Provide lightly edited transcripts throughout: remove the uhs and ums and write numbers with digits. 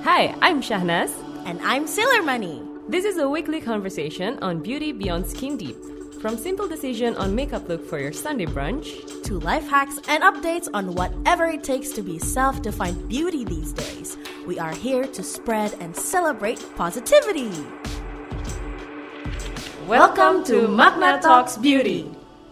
Hi, I'm Shahnaz. And I'm Sailor Money. This is a weekly conversation on beauty beyond skin deep. From simple decision on makeup look for your Sunday brunch, to life hacks and updates on whatever it takes to be self-defined beauty these days. We are here to spread and celebrate positivity. welcome to Magna Talks Beauty.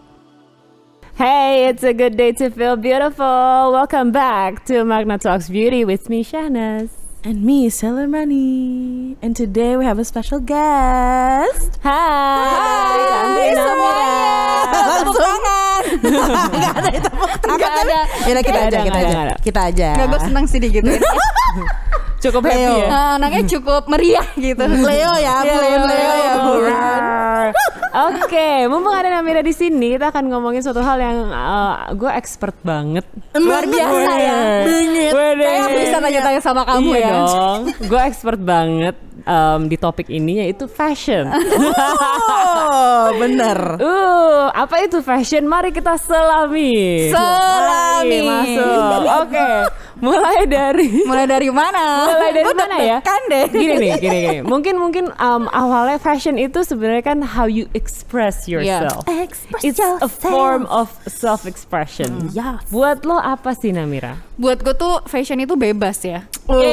Hey, it's a good day to feel beautiful. Welcome back to Magna Talks Beauty with me, Shahnaz. And me, Sailor Money. And today we have a special guest. Hai semuanya. Tepuk tangan. Gak ada tepuk tangan. Gak ada. Yaudah kita aja. Nggak, gue seneng sih digituin. Cukup happy Leo. ya? Anaknya cukup meriah gitu. Leo ya, Bun. Leo ya, Bun. Oke, mumpung ada Namira di sini, kita akan ngomongin suatu hal yang gue expert banget. Luar biasa ya. Bingit. Kayak aku bisa tanya-tanya sama kamu Iya ya. dong, gue expert banget di topik ini, yaitu fashion. Oh, bener. Apa itu fashion? Mari kita selami. Selami. Mari masuk. Oke, mulai dari mana? Mulai dari mana ya? Kan deh. Gini. Mungkin awalnya fashion itu sebenarnya kan how you express yourself. It's a form of self-expression. Yes. Buat lo apa sih, Namira? Buat gue tuh fashion itu bebas ya.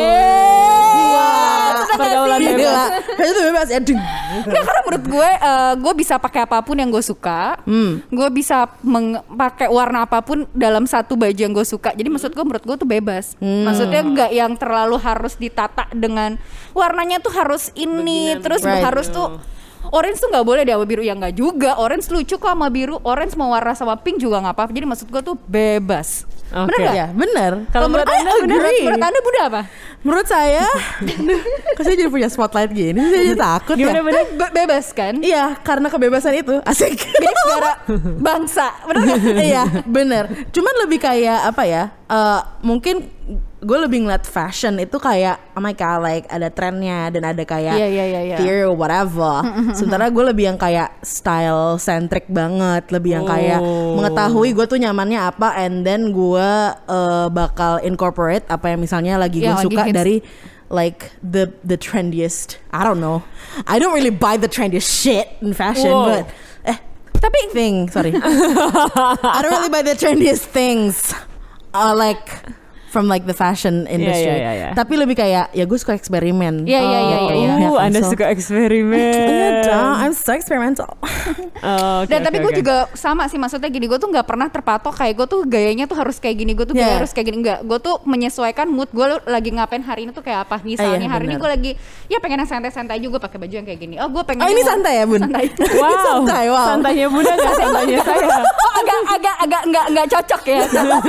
Pergaulan bebas. Fashion itu bebas ya. Nggak, karena menurut gue bisa pakai apapun yang gue suka. Gue bisa pakai warna apapun dalam satu baju yang gue suka. Jadi menurut gue tuh bebas. Maksudnya nggak yang terlalu harus ditata dengan warnanya tuh harus ini, terus harus tuh orange tuh nggak boleh deh sama biru, ya nggak juga. Orange lucu kok sama biru, orange mau warna sama pink juga nggak apa-apa. Jadi maksud gue tuh bebas. Oke. Bener nggak? Ya, bener. Kalau menurut Anda bener? Menurut Anda Bunda apa? Menurut saya, kok saya jadi punya spotlight gini, saya jadi takut ya. Gimana? Bebas kan? Iya, karena kebebasan itu asik. Biar negara bangsa, bener nggak? Iya, bener. Cuman lebih kayak apa ya? Mungkin gue lebih ngeliat fashion itu kayak oh my god, like ada trennya dan ada kayak Iya. theory or whatever. Sementara gue lebih yang kayak style centric banget, lebih yang kayak mengetahui gue tuh nyamannya apa, and then gue bakal incorporate apa yang misalnya lagi gue Yang lagi suka hits. dari like the trendiest. I don't know. I don't really buy the trendiest shit in fashion, but Tapi sorry. I don't really buy the trendiest things. Like from like the fashion industry. Yeah. Tapi lebih kayak ya gue suka eksperimen. Iya. Anda suka eksperimen. Iya dong, I'm so experimental. Dan tapi gue juga sama sih, maksudnya gini, gue tuh nggak pernah terpatok kayak gue tuh gayanya tuh harus kayak gini, gue tuh gaya harus kayak gini, enggak. Gue tuh menyesuaikan mood gue lagi ngapain hari ini tuh kayak apa. Misalnya hari ini gue lagi ya pengen yang santai-santai juga, pakai baju yang kayak gini. Oh gue pengen. Oh ini santai ya Bun? Santai. Wow, Wow. santainya Bunda nggak santainya saya. Oh agak nggak cocok ya.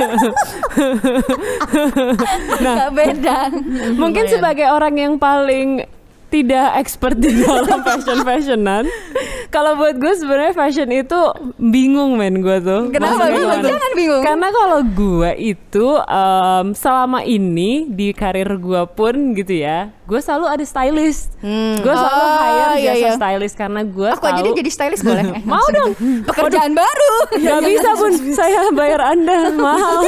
Nggak beda. Mungkin sebagai orang yang paling tidak expert di dalam fashion-fashionan, kalau buat gue sebenarnya fashion itu bingung gue tuh. Kenapa? Maksudnya Jangan bingung. Karena kalau gue itu selama ini di karir gue pun gitu ya, gue selalu ada stylist. Gue selalu hire jasa stylist karena gue Aku aja deh jadi stylist boleh? Mau dong. Pekerjaan baru. Gak bisa Bun, saya bayar Anda mahal.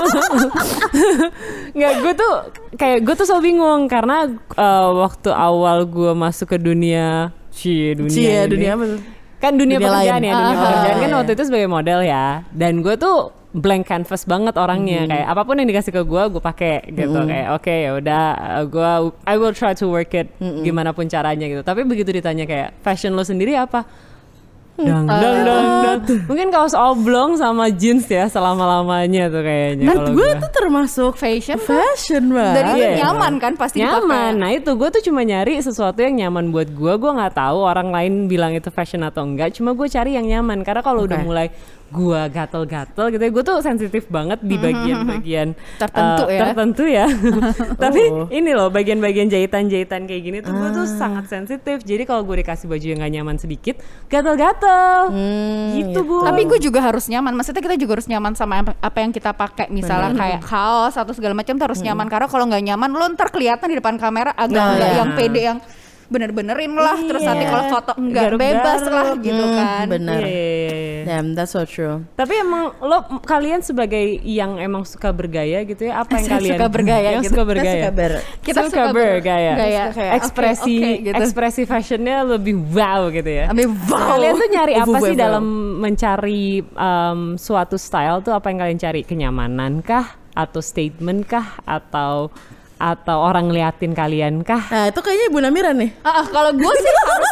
Nggak, gue tuh selalu bingung karena waktu awal gue masuk ke dunia dunia apa tuh? kan dunia pekerjaan lain. ya, dunia pekerjaan kan iya. waktu itu sebagai model ya, dan gue tuh blank canvas banget orangnya, kayak apapun yang dikasih ke gue pakai gitu, kayak oke, ya udah I will try to work it gimana pun caranya gitu. Tapi begitu ditanya kayak fashion lo sendiri apa? Dang. Mungkin kaos oblong sama jeans ya selama-lamanya tuh kayaknya. Dan gue tuh termasuk Fashion banget. dari Iya. nyaman kan pasti dipakai. Nyaman. Nah itu gue tuh cuma nyari sesuatu yang nyaman buat gue. Gue nggak tahu orang lain bilang itu fashion atau enggak. Cuma gue cari yang nyaman karena kalau udah mulai gue gatel-gatel gitu, gue tuh sensitif banget di bagian-bagian tertentu ya. Tapi ini loh bagian-bagian jahitan-jahitan kayak gini tuh gue tuh sangat sensitif. Jadi kalau gue dikasih baju yang gak nyaman sedikit, gatel-gatel. Gitu Bu. Tapi gue juga harus nyaman. Maksudnya kita juga harus nyaman sama apa yang kita pakai. Misalnya kayak kaos atau segala macam tuh harus nyaman. Karena kalau nggak nyaman, lo ntar kelihatan di depan kamera agak yang pede yang bener-benerin lah, terus nanti kalau foto enggak bebas lah gitu kan. Bener. Iya. Damn, that's so true. Tapi emang kalian sebagai yang emang suka bergaya gitu ya, apa yang kalian suka bergaya yang gitu. suka bergaya? Kita suka bergaya. Kayak, ekspresi gitu. ekspresi fashionnya lebih wow gitu ya. Lebih wow. Kalian tuh nyari apa sih Wow. dalam mencari suatu style tuh, apa yang kalian cari? Kenyamanan kah, atau statement kah, atau orang ngeliatin kalian kah? Nah itu kayaknya Ibu Namira nih. Kalau gue sih harus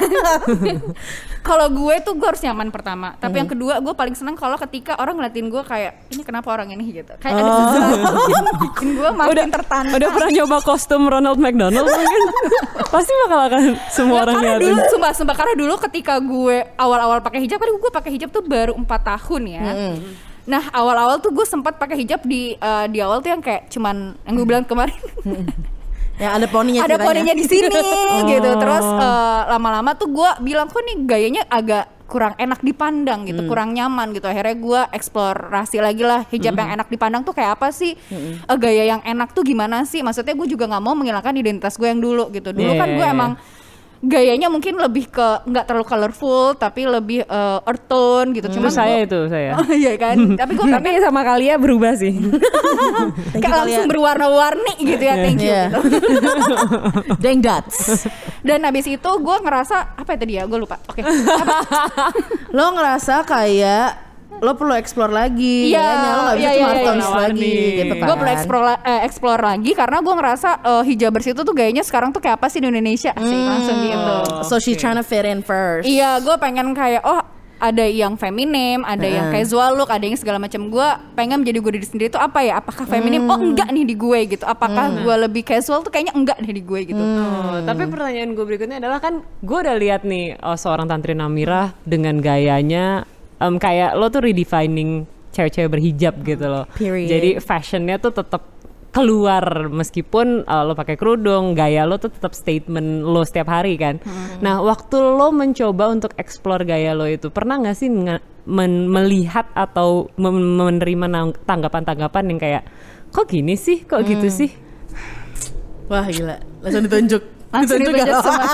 kalau gue tuh gue harus nyaman pertama. Tapi yang kedua gue paling seneng kalau ketika orang ngeliatin gue kayak ini kenapa orang ini gitu. Kayak ada sesuatu yang bikin gue makin tertantang. Udah pernah nyoba kostum Ronald McDonald mungkin? Pasti bakal akan semua orang karena liatin. dulu sumpah karena dulu ketika gue awal-awal pakai hijab, kan gue pakai hijab tuh baru 4 tahun ya. Nah awal-awal tuh gue sempat pakai hijab di awal tuh yang kayak cuman yang gue bilang kemarin. Yang ada poninya. Ada poninya di sini gitu. Terus lama-lama tuh gue bilang kok nih gayanya agak kurang enak dipandang gitu, kurang nyaman gitu. Akhirnya gue eksplorasi lagi lah hijab yang enak dipandang tuh kayak apa sih, gaya yang enak tuh gimana sih. Maksudnya gue juga nggak mau menghilangkan identitas gue yang dulu gitu. Dulu kan gue emang gayanya mungkin lebih ke nggak terlalu colorful tapi lebih earth tone gitu. Cuman saya. Oh, iya kan. Tapi gue tapi sama Kalia berubah sih. kayak langsung berwarna-warni gitu ya. Thank you. Yeah. Gitu. Dang dots. Dan habis itu gue ngerasa apa ya tadi ya? Gue lupa. Oke. Lo ngerasa kayak lo perlu explore lagi, Iya, kayaknya lo nggak bisa iya, cuma iya, tones iya. lagi gitu kan. Gue perlu explore lagi karena gue ngerasa hijabers itu tuh gayanya sekarang tuh kayak apa sih di Indonesia sih langsung gitu. So she's trying to fit in first. Iya, gue pengen kayak ada yang feminim, ada yang casual look, ada yang segala macam. Gue pengen menjadi gue diri sendiri tuh apa ya? Apakah feminim? Oh enggak nih di gue gitu. Apakah gue lebih casual tuh kayaknya enggak nih di gue gitu. Tapi pertanyaan gue berikutnya adalah kan gue udah lihat nih seorang Tantri Namira dengan gayanya kayak lo tuh redefining cewek-cewek berhijab gitu loh. Period. Jadi fashionnya tuh tetap keluar meskipun lo pakai kerudung, gaya lo tuh tetap statement lo setiap hari kan. Nah waktu lo mencoba untuk explore gaya lo itu, pernah nggak sih melihat atau menerima tanggapan-tanggapan yang kayak kok gini sih, kok gitu sih? Wah gila, langsung ditunjuk. Langsung ditunjuk semua.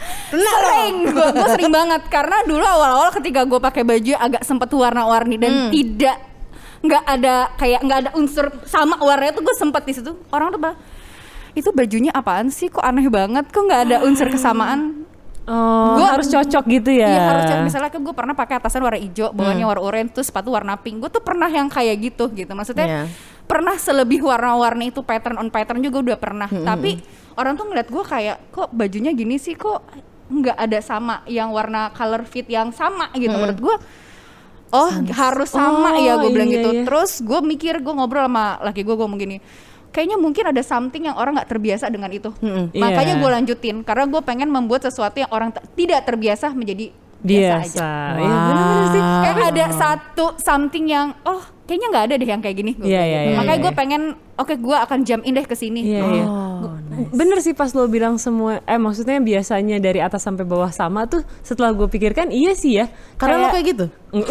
Gue sering banget karena dulu awal-awal ketika gue pakai baju agak sempet warna-warni dan nggak ada unsur sama warnanya tuh gue sempet di situ. Orang tuh bilang itu bajunya apaan sih, kok aneh banget, kok nggak ada unsur kesamaan. Gua harus cocok gitu ya. Iya harus cocok. Misalnya gue pernah pakai atasan warna hijau, bawahnya warna oranye, tuh sepatu warna pink. Gue tuh pernah yang kayak gitu. Maksudnya pernah selebih warna-warni itu pattern on pattern juga udah pernah. Tapi orang tuh ngeliat gue kayak kok bajunya gini sih, kok nggak ada sama yang warna color fit yang sama gitu. Menurut gue harus sama ya, gue bilang gitu. Terus gue mikir, gue ngobrol sama laki gue ngomong gini, kayaknya mungkin ada something yang orang nggak terbiasa dengan itu. Makanya gue lanjutin karena gue pengen membuat sesuatu yang orang tidak terbiasa menjadi biasa aja. Iya benar sih. Kayak ada satu something yang kayaknya nggak ada deh yang kayak gini. Makanya gue pengen gue akan jump in deh ke sini. Nice. Bener sih pas lo bilang semua, maksudnya biasanya dari atas sampai bawah sama tuh, setelah gue pikirkan iya sih ya. Karena lo kayak gitu?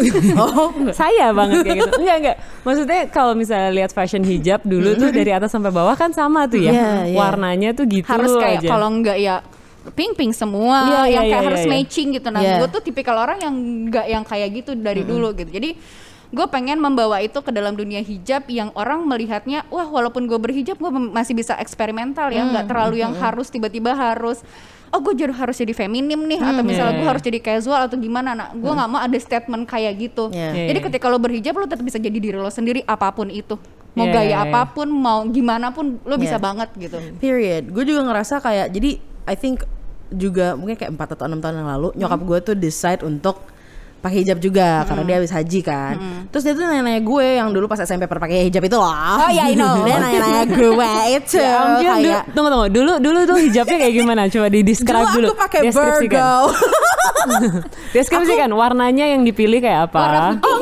Saya banget kayak gitu. Enggak. Maksudnya kalau misalnya lihat fashion hijab dulu tuh dari atas sampai bawah kan sama tuh ya. Warnanya tuh gitu harus kayak aja. Kalau enggak ya pink semua, yang kayak harus matching gitu. Nah gue tuh tipikal orang yang enggak yang kayak gitu dari dulu gitu. Jadi gue pengen membawa itu ke dalam dunia hijab yang orang melihatnya, wah walaupun gue berhijab gue masih bisa eksperimental ya, nggak terlalu yang harus tiba-tiba harus gue harus jadi feminim nih, atau misalnya gue harus jadi casual atau gimana. Nah gue nggak mau ada statement kayak gitu. Jadi ketika lo berhijab lo tetap bisa jadi diri lo sendiri apapun itu, mau gaya apapun, mau gimana pun lo bisa banget gitu. Period. Gue juga ngerasa kayak, jadi I think juga mungkin kayak 4 atau 6 tahun yang lalu nyokap gue tuh decide untuk pakai hijab juga karena dia habis haji kan. Terus dia tuh nanya-nanya gue yang dulu pas SMP pernah pakai hijab itu loh. Oh iya, I know. Dia nanya-nanya gue itu kayak tunggu dulu tuh hijabnya kayak gimana? Coba di describe dulu. Aku pakai Virgo. Deskripsikan warnanya yang dipilih kayak apa? Warna putih, enggak.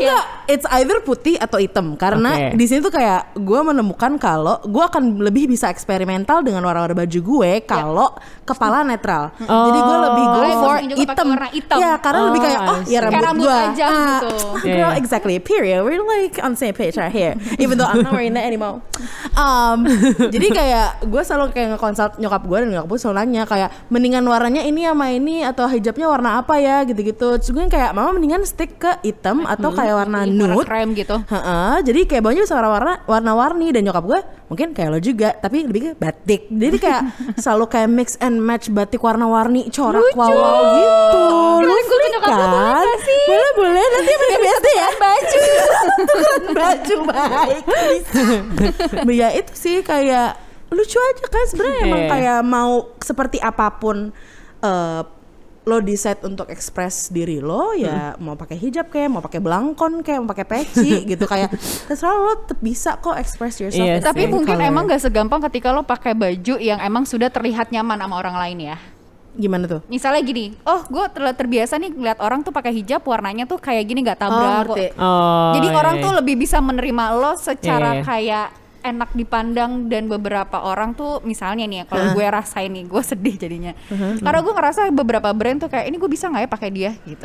it's either putih atau hitam karena di sini tuh kayak gue menemukan kalau gue akan lebih bisa eksperimental dengan warna-warna baju gue kalau kepala netral. Jadi gue lebih go for hitam. Ya karena lebih kayak ya rambut gue aja gitu. Girl, exactly. Period. We're like on the same page right here. Even though I'm not wearing that anymore. Jadi kayak gue selalu kayak nge-consult nyokap gue dan nyokap gue selalu nanya kayak mendingan warnanya ini sama ini atau hijabnya warna apa ya gitu-gitu. Terus gue kayak mama mendingan stick ke hitam atau kayak warna nude krem gitu. Jadi kayak bajunya bisa warna-warni dan nyokap gue mungkin kayak lo juga tapi lebih ke batik. Jadi kayak selalu kayak mix and match batik warna-warni corak wow gitu. Lucu kan? Boleh nanti mereka biasa ya baju. Baju baik. Ya itu sih kayak lucu aja kan sebenarnya emang kayak mau seperti apapun lo decide untuk express diri lo ya mau pakai hijab kayak mau pakai belangkon kayak mau pakai peci gitu kayak terserah lo tetap bisa kok express yourself. Tapi mungkin emang gak segampang ketika lo pakai baju yang emang sudah terlihat nyaman sama orang lain ya. Gimana tuh? Misalnya gini, gue terbiasa nih ngeliat orang tuh pakai hijab warnanya tuh kayak gini gak tabrak kok. Jadi orang tuh lebih bisa menerima lo secara kayak enak dipandang dan beberapa orang tuh misalnya nih ya kalau gue rasain nih gue sedih jadinya karena gue ngerasa beberapa brand tuh kayak ini gue bisa nggak ya pakai dia gitu.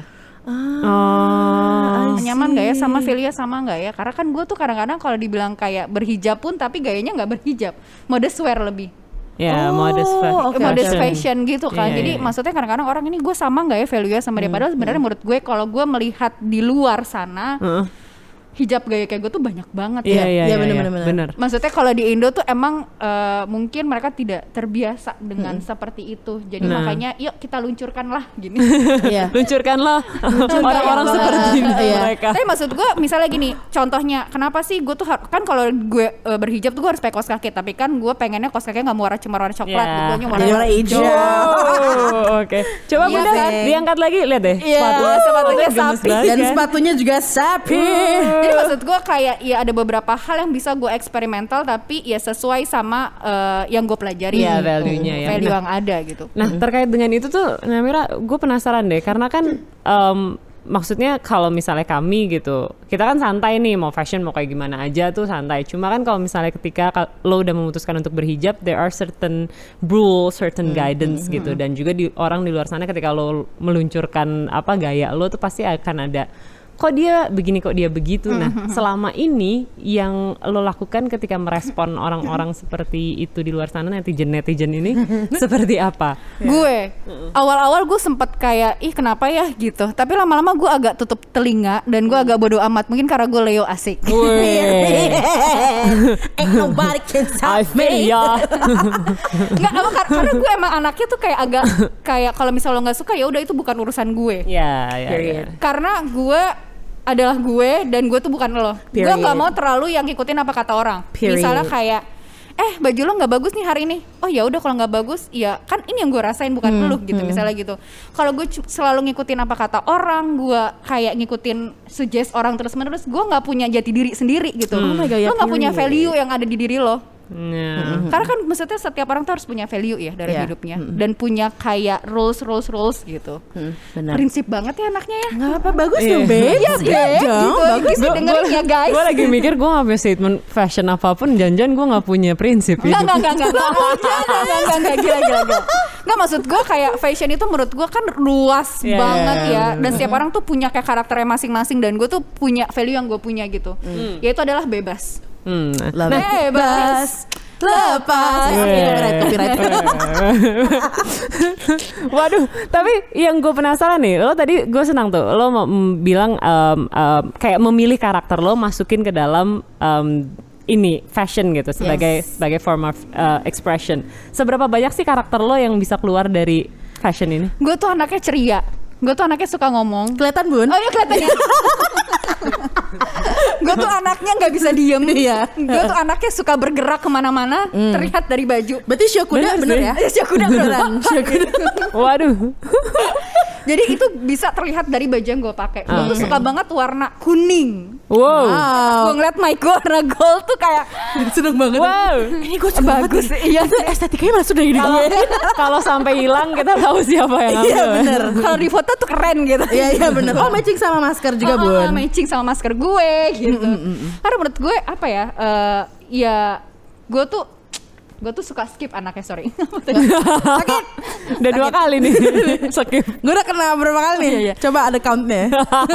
Nyaman nggak ya sama Velia sama nggak ya karena kan gue tuh kadang-kadang kalau dibilang kayak berhijab pun tapi gayanya nggak berhijab modest wear lebih. Modest fashion gitu kan. Jadi maksudnya kadang-kadang orang ini gue sama nggak ya Velia sama dia padahal sebenarnya menurut gue kalau gue melihat di luar sana hijab gaya kayak gue tuh banyak banget ya benar. Maksudnya kalau di Indo tuh emang mungkin mereka tidak terbiasa dengan seperti itu. Jadi makanya yuk kita luncurkan lah gini. Luncurkanlah orang-orang seperti mereka. Tapi maksud gue misalnya gini, contohnya kenapa sih gue tuh kan kalau gue berhijab tuh gue harus pakai kaos kaki, tapi kan gue pengennya kaos kakinya nggak mau cuma warna coklat, gue warna hijau. Oke. Coba Bunda diangkat lagi, lihat deh. Sepatunya sapi dan sepatunya juga sapi. Jadi maksud gue kayak ya ada beberapa hal yang bisa gue eksperimental tapi ya sesuai sama yang gue pelajari value-nya ya. Value yang ada gitu. Nah terkait dengan itu tuh Namira gue penasaran deh karena kan maksudnya kalau misalnya kami gitu kita kan santai nih mau fashion mau kayak gimana aja tuh santai. Cuma kan kalau misalnya ketika lo udah memutuskan untuk berhijab there are certain rules, certain guidance gitu dan juga orang di luar sana ketika lo meluncurkan apa gaya lo tuh pasti akan ada kok dia begini kok dia begitu. Nah selama ini yang lo lakukan ketika merespon orang-orang seperti itu di luar sana netizen ini seperti apa? Gue awal-awal gue sempet kayak kenapa ya gitu tapi lama-lama gue agak tutup telinga dan gue agak bodo amat mungkin karena gue Leo asik. Ain't nobody can stop me. Nggak karena gue emang anaknya tuh kayak agak kayak kalau misalnya lo nggak suka ya udah itu bukan urusan gue. Karena gue adalah gue dan gue tuh bukan lo. Gue nggak mau terlalu yang ngikutin apa kata orang. Misalnya kayak baju lo nggak bagus nih hari ini. Oh ya udah kalau nggak bagus ya kan ini yang gue rasain bukan lo gitu misalnya gitu. Kalau gue selalu ngikutin apa kata orang, gue kayak ngikutin suggest orang terus menerus, gue nggak punya jati diri sendiri gitu. Lo nggak punya value yang ada di diri lo. Karena kan maksudnya setiap orang tuh harus punya value ya dari hidupnya dan punya kayak rules gitu. Prinsip banget ya anaknya ya. Nggak apa bagus dong babe. Bagus dengerin ya guys. Gue lagi mikir gue nggak punya statement fashion apapun jangan gue nggak punya prinsip. Nggak gila. Nggak maksud gue kayak fashion itu menurut gue kan luas banget ya dan setiap orang tuh punya kayak karakternya masing-masing dan gue tuh punya value yang gue punya gitu. Yaitu adalah bebas. Bebas lepas copyright. Waduh, tapi yang gue penasaran nih, lo tadi gue senang tuh, lo mau bilang kayak memilih karakter lo masukin ke dalam ini fashion gitu sebagai form of expression. Seberapa banyak sih karakter lo yang bisa keluar dari fashion ini? Gue tuh anaknya ceria. Gue tuh anaknya suka ngomong. Kelihatan Bun? Oh iya kelihatan ya. Gue tuh anaknya nggak bisa diem. Gue tuh anaknya suka bergerak kemana-mana. Terlihat dari baju. Berarti show kuda bener ya? Show kuda beneran. Waduh. Jadi itu bisa terlihat dari baju yang gue pakai. Gue tuh suka banget warna kuning. Wow. Gue ngeliat mic gue warna gold tuh kayak Seneng banget. Wow. Ini gue bagus. Iya, Itu estetikanya malah sudah ini. Kalau sampai hilang kita tahu siapa yang ambil. Iya bener. kalau di foto tuh keren gitu. Iya bener. Oh matching sama masker juga Bun. Matching sama masker gue gitu. Karena menurut gue apa ya? Ya gue tuh suka skip anaknya, sorry. Sakit. Udah 2 kali nih. Skip. Gue udah kena berapa kali nih? Iya. Coba ada countnya.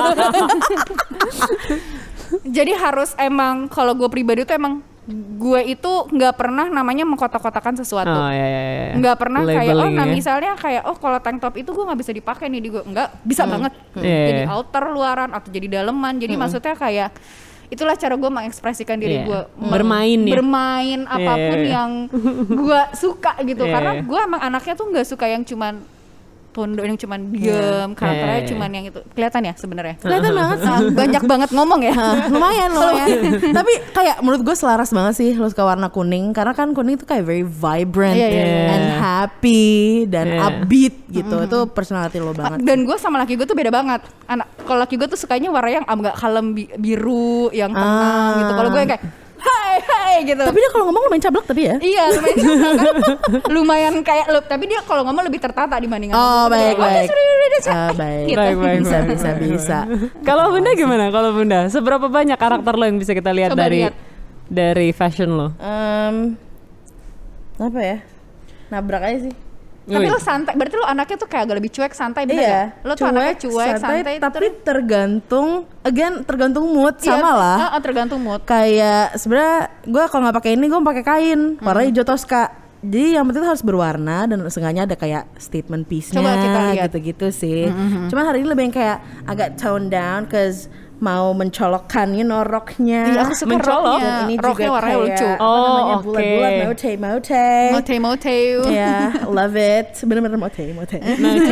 Jadi harus emang kalau gue pribadi tuh emang gue itu nggak pernah namanya mengkotak-kotakan sesuatu. Oh iya. Nggak pernah kayak Labeling ya. misalnya kayak kalau tank top itu gue nggak bisa dipakai nih di gue, nggak bisa banget. Iya. Jadi outer luaran atau jadi daleman. Jadi maksudnya kayak itulah cara gue mengekspresikan diri gue, Bermain ya. bermain apapun yang gue suka gitu. Iya. Karena gue emang anaknya tuh nggak suka yang cuman pondok, yang cuman diem, karakternya cuman yang itu. Kelihatan ya sebenarnya. Kelihatan banget sih. Banyak banget ngomong ya. lumayan. Tapi kayak menurut gue selaras banget sih lo suka warna kuning. Karena kan kuning itu kayak very vibrant and happy dan upbeat gitu. Itu personality lo banget. Dan gue sama laki gue tuh beda banget. Kalau laki gue tuh sukanya warna yang agak kalem biru, yang tenang gitu. Kalau gue yang kayak hai gitu. Tapi dia kalau ngomong lumayan cablak tadi ya. Iya lumayan kayak tapi dia kalau ngomong lebih tertata dibanding Baik. Gitu. Baik. Bisa. Kalau Bunda gimana? Kalau Bunda, seberapa banyak karakter lo yang bisa kita lihat Coba lihat. dari fashion lo? Apa ya? Nabrak aja sih. Tapi lo santai, berarti lo anaknya tuh kayak agak lebih cuek, santai, bener Iya, gak? Lo tuh anaknya cuek, santai, tapi tergantung mood sama lah. Tergantung mood. Kayak sebenarnya gue kalau nggak pakai ini gue pakai kain warna hijau toska. Jadi yang penting harus berwarna dan seenggaknya ada kayak statement piece-nya. Coba kita lihat. Gitu-gitu sih. Cuman hari ini lebih yang kayak agak tone down, cause mau mencolokkan roknya. Iya, aku suka Mencolok. roknya. Ini Roknya juga warnanya kayak lucu. bulat-bulat, mote. Mote. Ya, love it. Bener-bener mote. Mate.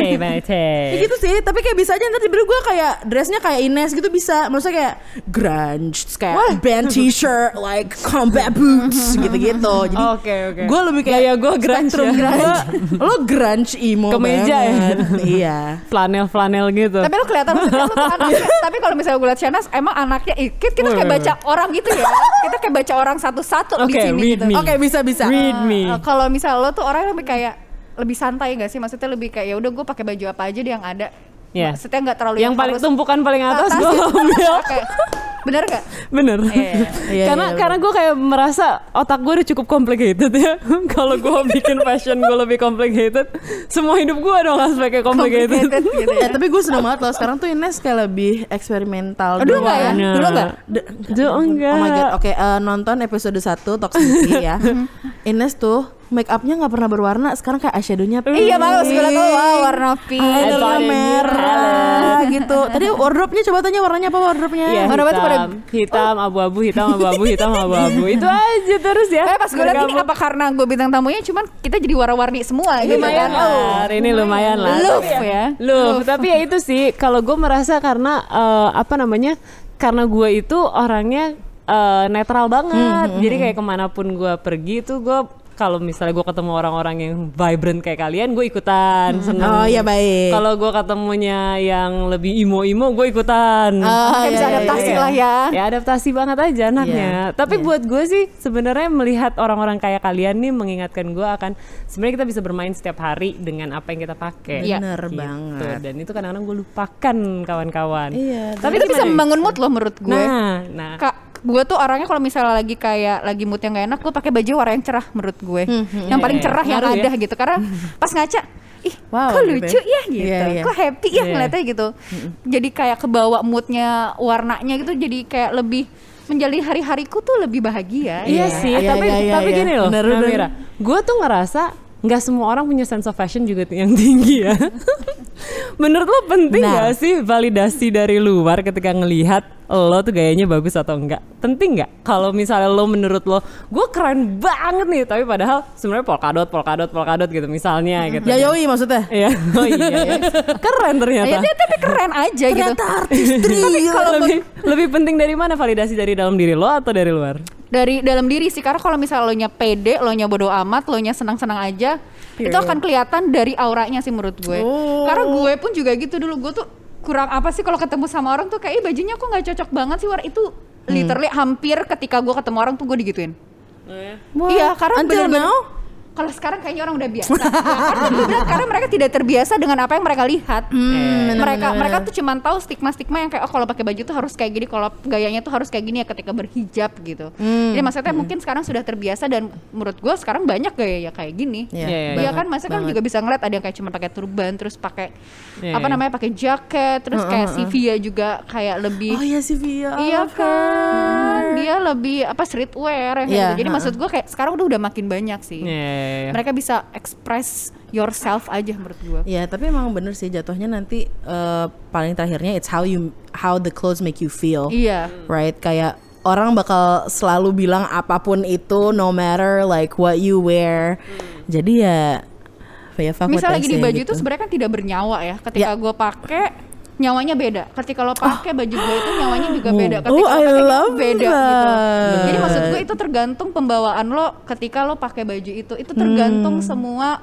Ya gitu sih, tapi kayak bisa aja ntar tiba-tiba gue kayak dressnya kayak Ines gitu bisa. Maksudnya kayak grunge, kayak band t-shirt, like combat boots gitu-gitu. Jadi Oke. gue lebih kayak Gaya gue grunge spectrum ya. grunge. Lo grunge emo Kemeja ya? banget. Iya. Flanel gitu. Tapi lo kelihatan maksudnya lo tuh anaknya. Tapi kalau misalnya gue liat Shanas, emang anaknya kita kayak baca orang gitu ya. Kita kayak baca orang satu-satu di Oke, sini read gitu. me. Oke, bisa. Read me. Kalau misal lo tuh orang lebih kayak lebih santai gak sih? Maksudnya lebih kayak ya udah gue pakai baju apa aja deh yang ada. Iya. Maksudnya nggak terlalu yang paling harus tumpukan paling atas atas gue gitu. ambil. Oke. Bener gak? Bener. Iya, Karena gue kayak merasa otak gue udah cukup complicated ya. Kalau gue bikin fashion gue lebih complicated, semua hidup gue dong harus pakai complicated. gitu ya. Tapi gue seneng banget loh. Sekarang tuh Ines kayak lebih eksperimental. Dulu nggak ya? Nah. Dulu nggak? Dulu enggak. Oh my god. Oke, nonton episode 1 Toxicity ya. Ines tuh make upnya nggak pernah berwarna. Sekarang kayak eyeshadownya pink. Iya bagus, gue liat wow, warna pink. Eyeliner merah gitu. Tadi wardrobe-nya coba tanya warnanya apa wardrobe-nya? Iya, Warna apa tuh pada- hitam, abu-abu, hitam, abu-abu. Itu aja terus ya. Pas gue liat ini apa karena gue bintang tamunya cuman kita jadi warna-warni semua gitu Lumayan kan. lah, hari ini lumayan lah. Love ya. Love, tapi ya itu sih kalau gue merasa karena karena gue itu orangnya netral banget. Jadi kayak kemanapun gue pergi tuh gue kalau misalnya gue ketemu orang-orang yang vibrant kayak kalian, gue ikutan seneng. Oh iya baik. Kalau gue ketemunya yang lebih imo-imo, gue ikutan. Kayak bisa adaptasi lah ya. Ya adaptasi banget aja anaknya. Tapi buat gue sih sebenarnya melihat orang-orang kayak kalian nih mengingatkan gue akan sebenarnya kita bisa bermain setiap hari dengan apa yang kita pakai. Iya. Bener Gitu. banget. Dan itu kadang-kadang gue lupakan kawan-kawan. Iya. Tapi itu bisa membangun mood loh menurut gue. Nah. Gue tuh orangnya kalau misalnya lagi mood yang gak enak, gue pakai baju warna yang cerah menurut gue. Yang paling cerah yang Ngaruh ada ya. gitu. Karena pas ngaca, ih Wow, kok gitu lucu ya. ya gitu. Iya. Kok happy ya Iya. ngeliatnya gitu. Jadi kayak kebawa moodnya, warnanya gitu. Jadi kayak lebih menjalani hari-hariku tuh lebih bahagia. Iya Iya, sih, iya, tapi iya, iya. gini loh, Bener. Namira, gue tuh ngerasa nggak semua orang punya sense of fashion juga yang tinggi ya. Menurut lo penting nggak sih validasi dari luar ketika ngelihat lo tuh gayanya bagus atau enggak? Penting nggak? Kalau misalnya lo menurut lo, gue keren banget nih, tapi padahal sebenarnya polkadot gitu misalnya gitu. Yayoi maksudnya? Iya, oh iya, keren ternyata. Ya, tapi keren aja gitu. Ternyata artis Tapi kalau lebih penting dari mana validasi dari dalam diri lo atau dari luar? dari dalam diri sih. Karena kalau misalnya lo nya pede, lo nya bodo amat, lo nya senang-senang aja, itu akan kelihatan dari auranya sih menurut gue. Karena gue pun juga gitu dulu, gue tuh kurang apa sih kalau ketemu sama orang tuh kayak bajunya kok nggak cocok banget sih, itu literally hampir ketika gue ketemu orang tuh gue digituin. Iya, karena bener-bener kalau sekarang kayaknya orang udah biasa. Karena mereka tidak terbiasa dengan apa yang mereka lihat. Mereka tuh cuma tahu stigma-stigma yang kayak kalau pakai baju tuh harus kayak gini, kalau gayanya tuh harus kayak gini ya ketika berhijab gitu. Jadi maksudnya mungkin sekarang sudah terbiasa, dan menurut gue sekarang banyak gaya ya kayak gini. Iya kan, maksudnya kan juga bisa ngeliat ada yang kayak cuma pakai turban, terus pakai pakai jaket, terus kayak Sivia juga kayak lebih. Oh iya Sivia. Iya kan, dia lebih streetwear yang gitu. Jadi maksud gue kayak sekarang udah makin banyak sih. Mereka bisa express yourself aja menurut gue. Ya, tapi emang bener sih jatuhnya nanti paling terakhirnya it's how the clothes make you feel. Iya. Right, kayak orang bakal selalu bilang apapun itu, no matter like what you wear. Jadi ya misalnya lagi di baju gitu. itu sebenarnya kan tidak bernyawa ya. Ketika gue pakai nyawanya beda. Ketika lo pakai baju gue itu nyawanya juga beda. Ketika lo pakai beda gitu. Jadi maksud gue itu tergantung pembawaan lo ketika lo pakai baju itu. Itu tergantung semua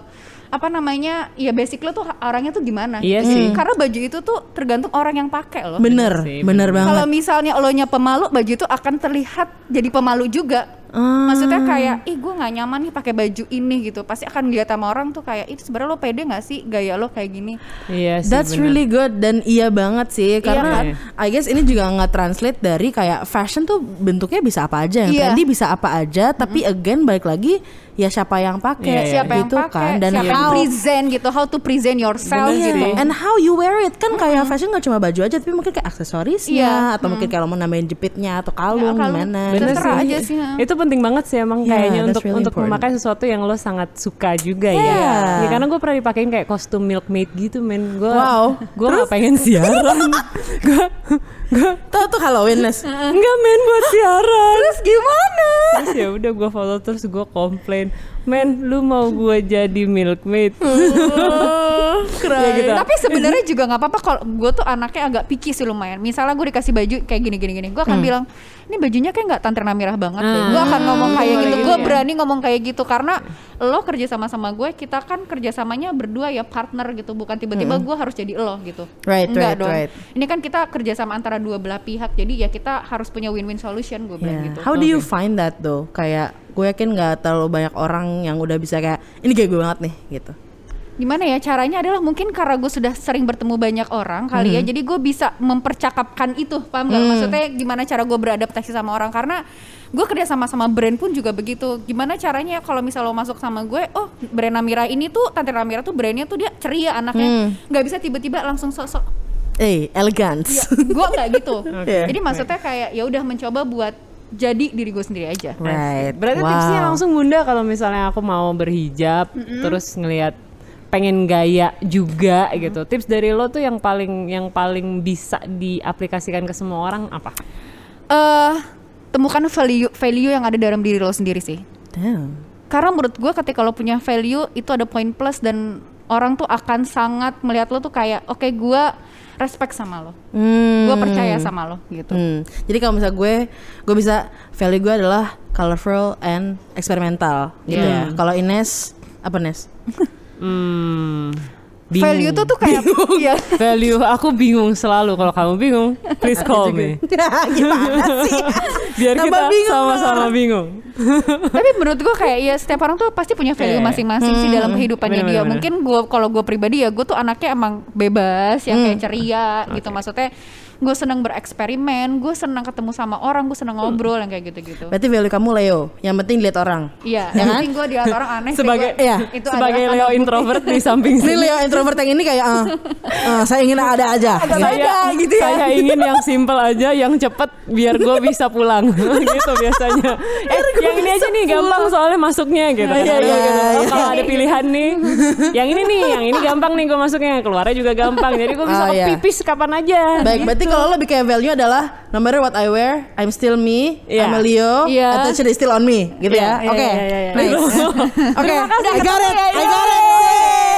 ya basic lo tuh orangnya tuh gimana. Iya sih. Karena baju itu tuh tergantung orang yang pakai lo. Bener banget. Kalau misalnya lo nya pemalu, baju itu akan terlihat jadi pemalu juga. Maksudnya kayak, gue nggak nyaman nih pakai baju ini gitu. Pasti akan dilihat sama orang tuh kayak, itu sebenarnya lo pede nggak sih gaya lo kayak gini? Iya sih. That's really good, dan iya banget sih karena I guess ini juga nggak translate dari kayak fashion tuh bentuknya bisa apa aja, yang trendy bisa apa aja. Tapi again balik lagi ya siapa yang pakai, siapa gitu yang pakai, kan, dan siapa yang present gitu, how to present yourself gitu, and how you wear it kan. Kayak fashion nggak cuma baju aja, tapi mungkin kayak aksesorisnya atau mungkin kalau mau nambahin jepitnya atau kalung gimana. Bener sih. aja sih. Itu penting banget sih emang kayaknya untuk memakai sesuatu yang lo sangat suka juga ya. Karena gue pernah dipakein kayak kostum milkmaid gitu men. Gue nggak pengen siaran. Gue tuh Halloween Nes. Enggak men, buat siaran. Terus gimana? Terus ya udah gue follow, terus gue komplain, men lu mau gue jadi milkmaid. Ya gitu. Tapi sebenarnya juga nggak apa-apa kalau gue tuh anaknya agak picky sih lumayan. Misalnya gue dikasih baju kayak gini, gue akan bilang ini bajunya kayak nggak Tante Namirah banget deh. Gue akan ngomong kayak gitu. Gue berani ngomong kayak gitu karena lo kerja sama gue, kita kan kerjasamanya berdua ya, partner gitu. Bukan tiba-tiba gue harus jadi lo gitu. Enggak dong. Ini kan kita kerjasama antara dua belah pihak. Jadi ya kita harus punya win-win solution, gue bilang gitu. How do you find that though? Kayak gue yakin nggak terlalu banyak orang yang udah bisa kayak ini kayak gue banget nih gitu. Gimana ya caranya adalah mungkin karena gue sudah sering bertemu banyak orang kali ya, jadi gue bisa mempercakapkan itu, paham gak? Maksudnya gimana cara gue beradaptasi sama orang, karena gue kerja sama brand pun juga begitu. Gimana caranya kalau misal lo masuk sama gue, oh brand Namirah ini tuh, Tante Namirah tuh brandnya tuh dia ceria anaknya, nggak bisa tiba-tiba langsung sok-sok elegance. Gue nggak gitu. Jadi maksudnya kayak ya udah mencoba buat jadi diri gue sendiri aja. Berarti tipsnya langsung Bunda kalau misalnya aku mau berhijab terus ngelihat pengen gaya juga gitu. Tips dari lo tuh yang paling bisa diaplikasikan ke semua orang apa? Temukan value yang ada dalam diri lo sendiri sih. Karena menurut gue ketika lo punya value itu ada poin plus, dan orang tuh akan sangat melihat lo tuh kayak oke, gue respect sama lo, gue percaya sama lo gitu. Jadi kalau misalnya gue bisa, value gue adalah colorful and experimental gitu ya. Kalau Ines apa Nes? Value tuh kayak value aku bingung selalu. Kalau kamu bingung, please call me. Gimana sih? Biar kita sama-sama bingung. Tapi menurut gue kayak ya setiap orang tuh pasti punya value masing-masing sih dalam kehidupannya dia. Mungkin kalau gue pribadi ya, gue tuh anaknya emang bebas, yang kayak ceria gitu. Maksudnya gue senang bereksperimen, gue senang ketemu sama orang, gue senang ngobrol yang kayak gitu-gitu. Berarti value kamu Leo, yang penting dilihat orang. Iya, yang penting gue dilihat orang aneh. Sebagai Leo introvert di samping sini. Ini Leo introvert yang ini kayak saya ingin ada aja. Saya ingin yang simple aja, yang cepet biar gue bisa pulang gitu biasanya. Yang ini aja nih gampang soalnya masuknya gitu. Kalau ada pilihan nih, yang ini gampang nih gue masuknya, keluarnya juga gampang. Jadi gue bisa pipis kapan aja. Baik, berarti kalau lo bikin value adalah no matter what I wear, I'm still me, I'm a Leo, attention is still on me, gitu ya. Oke, nice. Oke, I got it.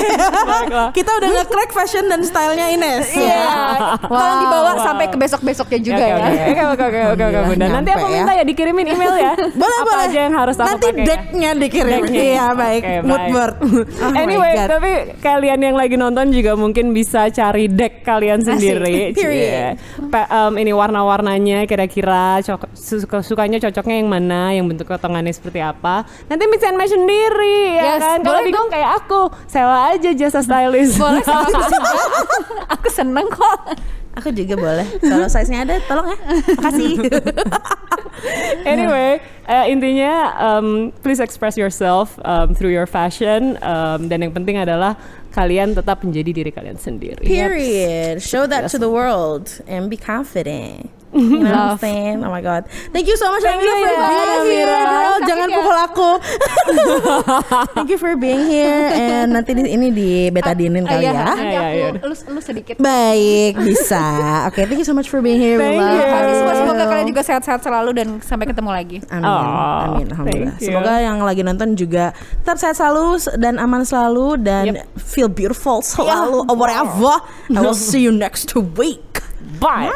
Kita udah nge-crack fashion dan stylenya Ines. Iya. Tolong dibawa sampai ke besok-besoknya juga ya. Oke, Bunda. Nanti aku minta ya dikirimin email ya. Boleh. Apa aja yang harus aku nanti pakai. Nanti decknya dikirim. Iya baik. Mood board. Anyway, tapi kalian yang lagi nonton juga mungkin bisa cari deck kalian sendiri. Period. Ini warna-warnanya kira-kira sukanya cocoknya yang mana, yang bentuk potongannya seperti apa. Nanti mix and match sendiri ya kan. Kalau bingung kayak aku, sewa aja jasa stylist. Boleh aku seneng kok. Aku juga boleh. Kalau size-nya ada, tolong ya. Makasih. Anyway, intinya please express yourself through your fashion. Dan yang penting adalah kalian tetap menjadi diri kalian sendiri. Period. Show that to the world and be confident. You know what I'm saying? Oh my god. Thank you so much Amira for being here. Girl, jangan pukul aku. Thank you for being here. And nanti ini di betadinin kali ya. Lu sedikit. Baik, bisa. Oke, thank you so much for being here. Thank you. Semoga kalian juga sehat-sehat selalu dan sampai ketemu lagi. Amin. Alhamdulillah. Semoga yang lagi nonton juga tetap sehat selalu dan aman selalu dan feel beautiful selalu. Or whatever. I will see you next week. Bye.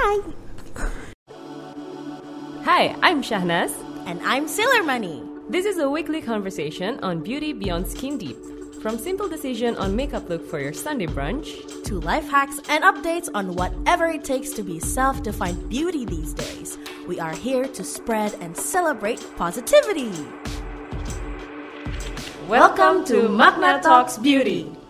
Hi, I'm Shahnaz. And I'm Sailor Money. This is a weekly conversation on beauty beyond skin deep. From simple decision on makeup look for your Sunday brunch to life hacks and updates on whatever it takes to be self-defined beauty these days. We are here to spread and celebrate positivity. Welcome to Magna Talks Beauty.